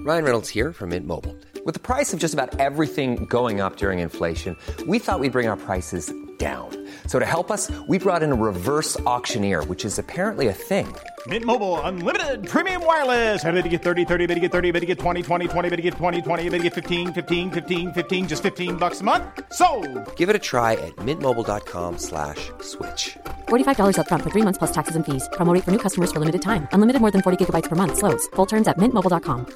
Ryan Reynolds here from Mint Mobile. With the price of just about everything going up during inflation, we thought we'd bring our prices down. So to help us, we brought in a reverse auctioneer, which is apparently a thing. Mint Mobile Unlimited Premium Wireless. How to get 30, 30, how to get 30, how to get 20, 20, 20, how to get 20, 20, how to get 15, 15, 15, 15, just $15 a month? Sold! Give it a try at mintmobile.com/switch. $45 up front for 3 months plus taxes and fees. Promo rate for new customers for limited time. Unlimited more than 40 gigabytes per month. Slows full terms at mintmobile.com.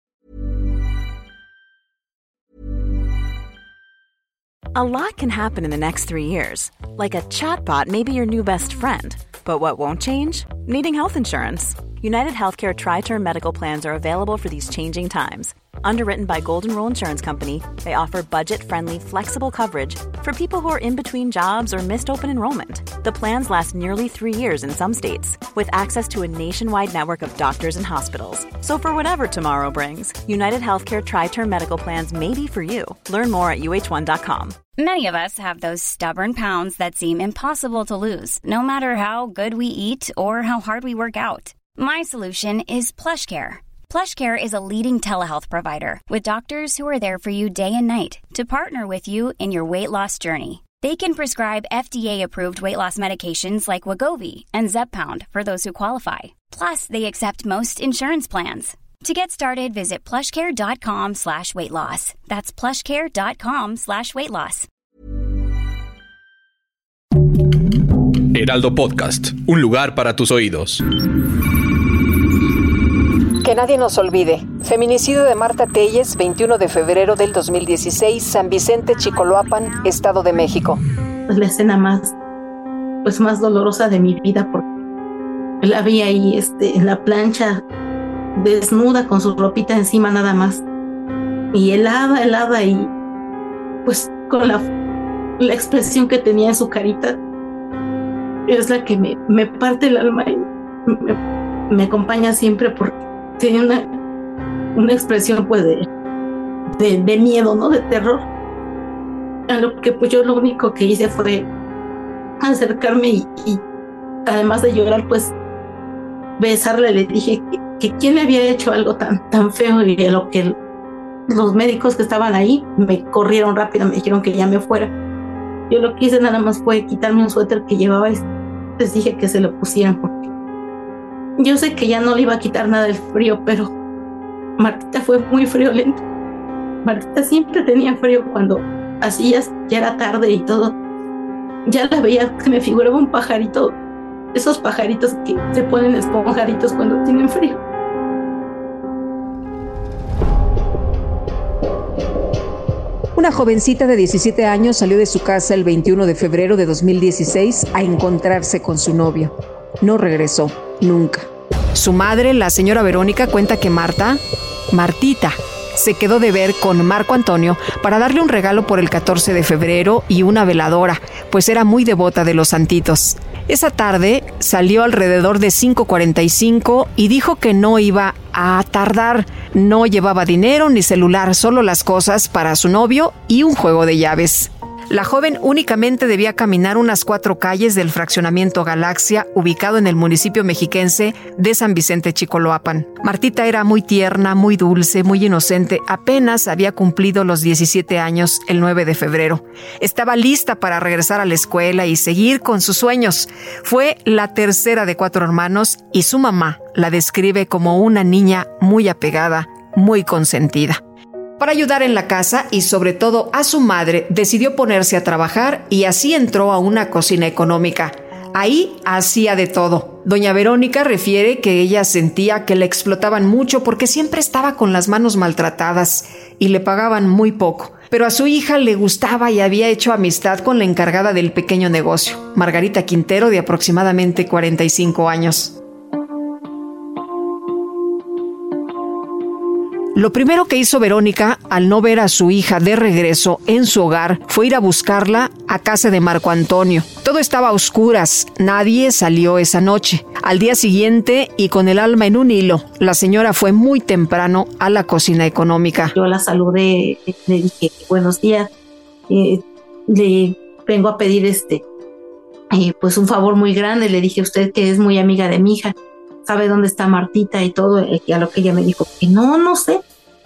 A lot can happen in the next 3 years. Like a chatbot may be your new best friend. But what won't change? Needing health insurance. United Healthcare Tri-Term Medical Plans are available for these changing times. Underwritten by Golden Rule Insurance Company, they offer budget-friendly, flexible coverage for people who are in between jobs or missed open enrollment. The plans last nearly 3 years in some states, with access to a nationwide network of doctors and hospitals. So for whatever tomorrow brings, United Healthcare Tri-Term Medical Plans may be for you. Learn more at uh1.com. Many of us have those stubborn pounds that seem impossible to lose, no matter how good we eat or how hard we work out. My solution is PlushCare. PlushCare is a leading telehealth provider with doctors who are there for you day and night to partner with you in your weight loss journey. They can prescribe FDA-approved weight loss medications like Wegovy and Zepbound for those who qualify. Plus, they accept most insurance plans. To get started, visit plushcare.com/weightloss. That's plushcare.com/weightloss. Heraldo Podcast, un lugar para tus oídos. Que nadie nos olvide. Feminicidio de Marta Telles, 21 de febrero del 2016, San Vicente, Chicoloapan, Estado de México. Es la escena más dolorosa de mi vida, porque la vi ahí en la plancha, desnuda, con su ropita encima nada más. Y helada, y pues con la expresión que tenía en su carita, es la que me parte el alma y me acompaña siempre, porque tiene una expresión pues de miedo, ¿no? De terror. A lo que pues yo lo único que hice fue acercarme y además de llorar, pues besarle. Le dije que quién le había hecho algo tan feo, y a lo que los médicos que estaban ahí me corrieron rápido, me dijeron que ya me fuera. Yo lo que hice nada más fue quitarme un suéter que llevaba y les dije que se lo pusieran, porque yo sé que ya no le iba a quitar nada el frío, pero Martita fue muy friolenta. Martita siempre tenía frío cuando así ya era tarde y todo. Ya la veía, se me figuraba un pajarito, esos pajaritos que se ponen esponjaditos cuando tienen frío. Una jovencita de 17 años salió de su casa el 21 de febrero de 2016 a encontrarse con su novio. No regresó, nunca. Su madre, la señora Verónica, cuenta que Martita, se quedó de ver con Marco Antonio para darle un regalo por el 14 de febrero y una veladora, pues era muy devota de los santitos. Esa tarde salió alrededor de 5:45 y dijo que no iba a tardar. No llevaba dinero ni celular, solo las cosas para su novio y un juego de llaves. La joven únicamente debía caminar unas 4 calles del fraccionamiento Galaxia, ubicado en el municipio mexiquense de San Vicente, Chicoloapan. Martita era muy tierna, muy dulce, muy inocente. Apenas había cumplido los 17 años el 9 de febrero. Estaba lista para regresar a la escuela y seguir con sus sueños. Fue la tercera de 4 hermanos y su mamá la describe como una niña muy apegada, muy consentida. Para ayudar en la casa y sobre todo a su madre, decidió ponerse a trabajar y así entró a una cocina económica. Ahí hacía de todo. Doña Verónica refiere que ella sentía que la explotaban mucho porque siempre estaba con las manos maltratadas y le pagaban muy poco. Pero a su hija le gustaba y había hecho amistad con la encargada del pequeño negocio, Margarita Quintero, de aproximadamente 45 años. Lo primero que hizo Verónica, al no ver a su hija de regreso en su hogar, fue ir a buscarla a casa de Marco Antonio. Todo estaba a oscuras, nadie salió esa noche. Al día siguiente, y con el alma en un hilo, la señora fue muy temprano a la cocina económica. Yo la saludé, le dije buenos días, le vengo a pedir pues un favor muy grande. Le dije, usted que es muy amiga de mi hija, ¿sabe dónde está Martita y todo? A lo que ella me dijo que no sé.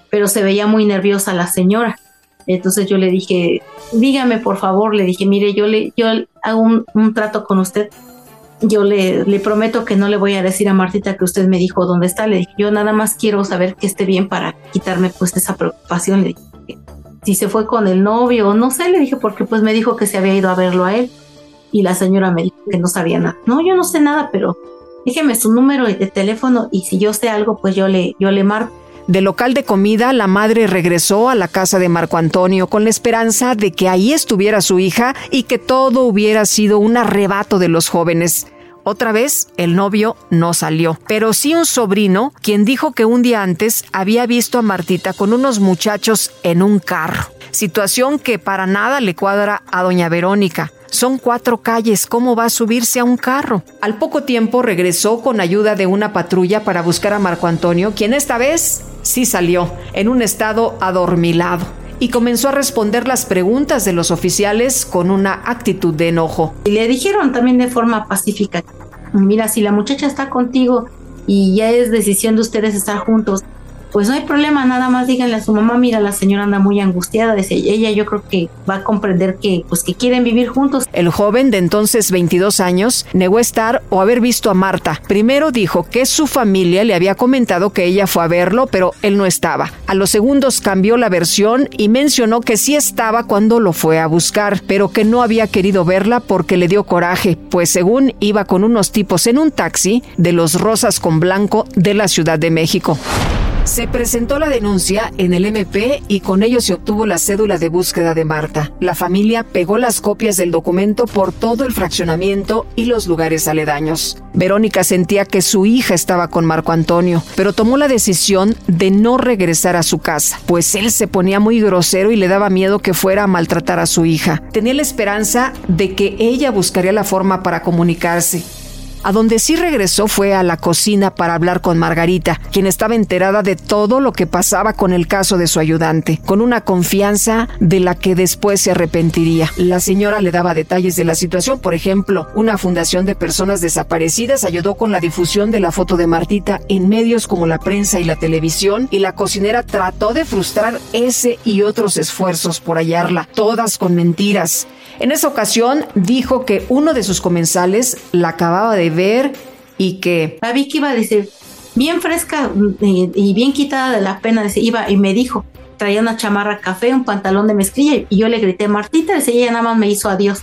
pero se veía muy nerviosa la señora. Entonces yo le dije, dígame por favor, le dije, mire, yo hago un trato con usted. Yo le prometo que no le voy a decir a Martita que usted me dijo dónde está. Le dije, yo nada más quiero saber que esté bien para quitarme pues esa preocupación. Le dije, si se fue con el novio o no sé, le dije, porque pues me dijo que se había ido a verlo a él. Y la señora me dijo que no sabía nada. No, yo no sé nada, pero déjeme su número de teléfono y si yo sé algo, pues yo le marco. Del local de comida, la madre regresó a la casa de Marco Antonio con la esperanza de que ahí estuviera su hija y que todo hubiera sido un arrebato de los jóvenes. Otra vez, el novio no salió, pero sí un sobrino, quien dijo que un día antes había visto a Martita con unos muchachos en un carro. Situación que para nada le cuadra a doña Verónica. Son 4 calles, ¿cómo va a subirse a un carro? Al poco tiempo regresó con ayuda de una patrulla para buscar a Marco Antonio, quien esta vez sí salió, en un estado adormilado, y comenzó a responder las preguntas de los oficiales con una actitud de enojo. Y le dijeron también de forma pacífica, mira, si la muchacha está contigo y ya es decisión de ustedes estar juntos, pues no hay problema, nada más díganle a su mamá, mira, la señora anda muy angustiada, dice, ella yo creo que va a comprender que quieren vivir juntos. El joven de entonces 22 años negó estar o haber visto a Marta. Primero dijo que su familia le había comentado que ella fue a verlo, pero él no estaba. A los segundos cambió la versión y mencionó que sí estaba cuando lo fue a buscar, pero que no había querido verla porque le dio coraje, pues según iba con unos tipos en un taxi de los rosas con blanco de la Ciudad de México. Se presentó la denuncia en el MP y con ello se obtuvo la cédula de búsqueda de Marta. La familia pegó las copias del documento por todo el fraccionamiento y los lugares aledaños. Verónica sentía que su hija estaba con Marco Antonio, pero tomó la decisión de no regresar a su casa, pues él se ponía muy grosero y le daba miedo que fuera a maltratar a su hija. Tenía la esperanza de que ella buscaría la forma para comunicarse. A donde sí regresó fue a la cocina para hablar con Margarita, quien estaba enterada de todo lo que pasaba con el caso de su ayudante, con una confianza de la que después se arrepentiría. La señora le daba detalles de la situación, por ejemplo, una fundación de personas desaparecidas ayudó con la difusión de la foto de Martita en medios como la prensa y la televisión, y la cocinera trató de frustrar ese y otros esfuerzos por hallarla, todas con mentiras. En esa ocasión dijo que uno de sus comensales la acababa de ver y que... La vi que iba a decir, bien fresca y bien quitada de la pena, iba y me dijo, traía una chamarra café, un pantalón de mezclilla y yo le grité, Martita, y ella nada más me hizo adiós.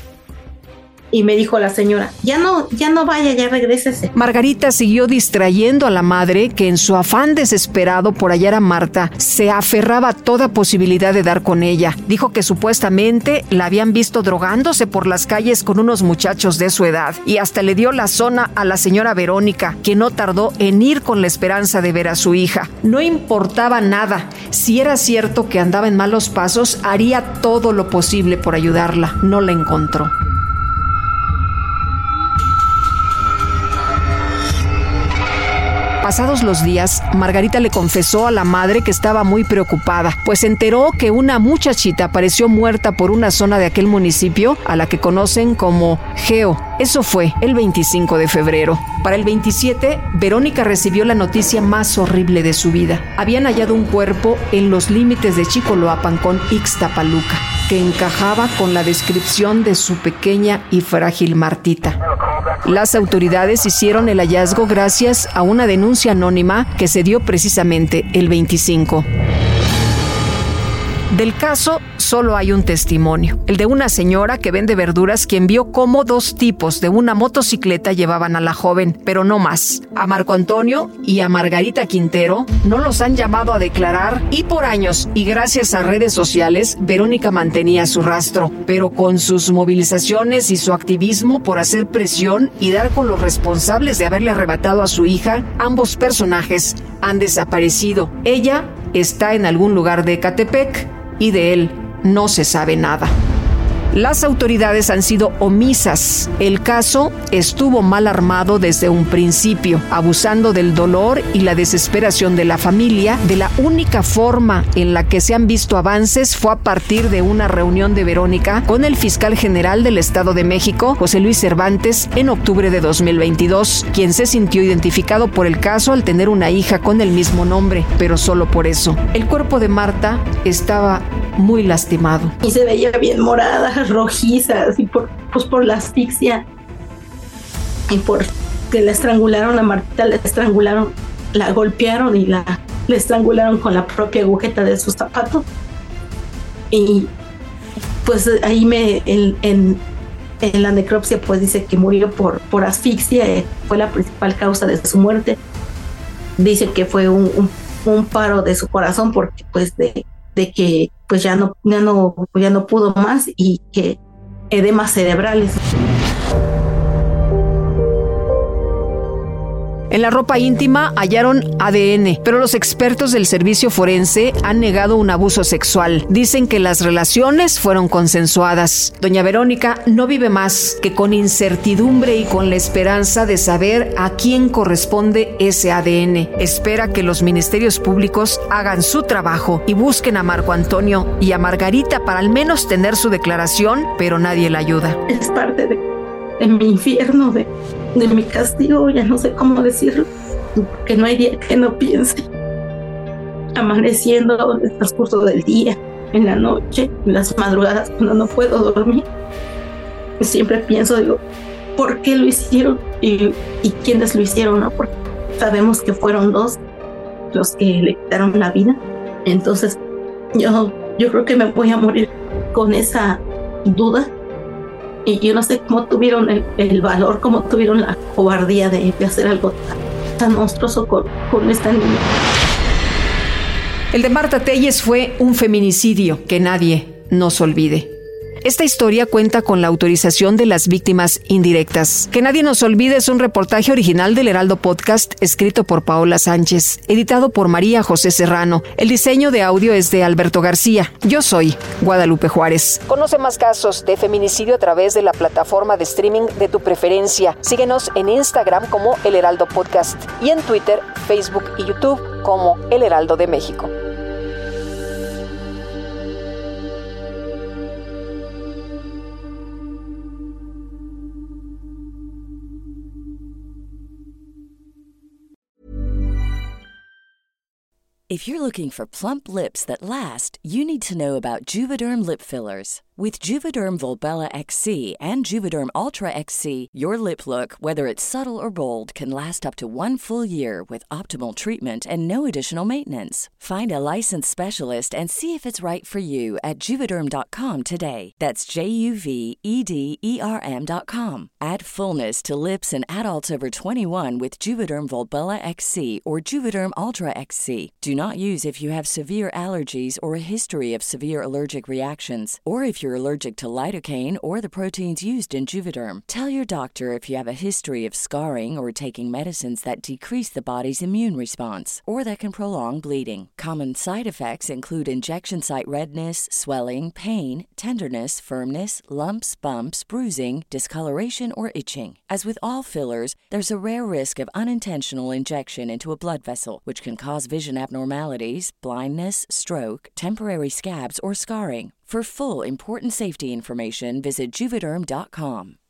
Y me dijo la señora, ya no vaya, ya regrésese. Margarita siguió distrayendo a la madre, que en su afán desesperado por hallar a Marta, se aferraba a toda posibilidad de dar con ella. Dijo que supuestamente la habían visto drogándose por las calles con unos muchachos de su edad. Y hasta le dio la zona a la señora Verónica, que no tardó en ir con la esperanza de ver a su hija. No importaba nada. Si era cierto que andaba en malos pasos, haría todo lo posible por ayudarla. No la encontró. Pasados los días, Margarita le confesó a la madre que estaba muy preocupada, pues se enteró que una muchachita apareció muerta por una zona de aquel municipio a la que conocen como Geo. Eso fue el 25 de febrero. Para el 27, Verónica recibió la noticia más horrible de su vida. Habían hallado un cuerpo en los límites de Chicoloapan con Ixtapaluca, que encajaba con la descripción de su pequeña y frágil Martita. Las autoridades hicieron el hallazgo gracias a una denuncia anónima que se dio precisamente el 25. Del caso solo hay un testimonio, el de una señora que vende verduras, quien vio cómo 2 tipos de una motocicleta llevaban a la joven, pero no más. A Marco Antonio y a Margarita Quintero no los han llamado a declarar y por años, y gracias a redes sociales, Verónica mantenía su rastro, pero con sus movilizaciones y su activismo por hacer presión y dar con los responsables de haberle arrebatado a su hija, ambos personajes han desaparecido. Ella está en algún lugar de Ecatepec y de él no se sabe nada. Las autoridades han sido omisas. El caso estuvo mal armado desde un principio, abusando del dolor y la desesperación de la familia. De la única forma en la que se han visto avances fue a partir de una reunión de Verónica con el fiscal general del Estado de México, José Luis Cervantes, en octubre de 2022, quien se sintió identificado por el caso al tener una hija con el mismo nombre, pero solo por eso. El cuerpo de Marta estaba muy lastimado. Y se veía bien morada, rojiza, así por la asfixia y por que la estrangularon a Martita, la estrangularon, la golpearon y la estrangularon con la propia agujeta de sus zapatos. Y pues ahí en la necropsia pues dice que murió por asfixia, fue la principal causa de su muerte. Dice que fue un paro de su corazón porque pues de que pues ya no pudo más y que edemas cerebrales. En la ropa íntima hallaron ADN, pero los expertos del servicio forense han negado un abuso sexual. Dicen que las relaciones fueron consensuadas. Doña Verónica no vive más que con incertidumbre y con la esperanza de saber a quién corresponde ese ADN. Espera que los ministerios públicos hagan su trabajo y busquen a Marco Antonio y a Margarita para al menos tener su declaración, pero nadie la ayuda. Es parte de mi infierno, de mi castigo, ya no sé cómo decirlo, porque no hay día que no piense. Amaneciendo en el transcurso del día, en la noche, en las madrugadas, cuando no puedo dormir, siempre pienso, digo, ¿por qué lo hicieron? Y quiénes lo hicieron, ¿no? Porque sabemos que fueron dos los que le quitaron la vida. Entonces, yo creo que me voy a morir con esa duda. Y yo no sé cómo tuvieron el valor, cómo tuvieron la cobardía de hacer algo tan monstruoso con esta niña. El de Marta Telles fue un feminicidio que nadie nos olvide. Esta historia cuenta con la autorización de las víctimas indirectas. Que nadie nos olvide es un reportaje original del Heraldo Podcast, escrito por Paola Sánchez, editado por María José Serrano. El diseño de audio es de Alberto García. Yo soy Guadalupe Juárez. Conoce más casos de feminicidio a través de la plataforma de streaming de tu preferencia. Síguenos en Instagram como El Heraldo Podcast y en Twitter, Facebook y YouTube como El Heraldo de México. If you're looking for plump lips that last, you need to know about Juvederm lip fillers. With Juvederm Volbella XC and Juvederm Ultra XC, your lip look, whether it's subtle or bold, can last up to 1 full year with optimal treatment and no additional maintenance. Find a licensed specialist and see if it's right for you at Juvederm.com today. That's JUVEDERM.com. Add fullness to lips in adults over 21 with Juvederm Volbella XC or Juvederm Ultra XC. Do not use if you have severe allergies or a history of severe allergic reactions, or if you're allergic to lidocaine or the proteins used in Juvederm. Tell your doctor if you have a history of scarring or taking medicines that decrease the body's immune response or that can prolong bleeding. Common side effects include injection site redness, swelling, pain, tenderness, firmness, lumps, bumps, bruising, discoloration, or itching. As with all fillers, there's a rare risk of unintentional injection into a blood vessel, which can cause vision abnormalities, blindness, stroke, temporary scabs, or scarring. For full, important safety information, visit Juvederm.com.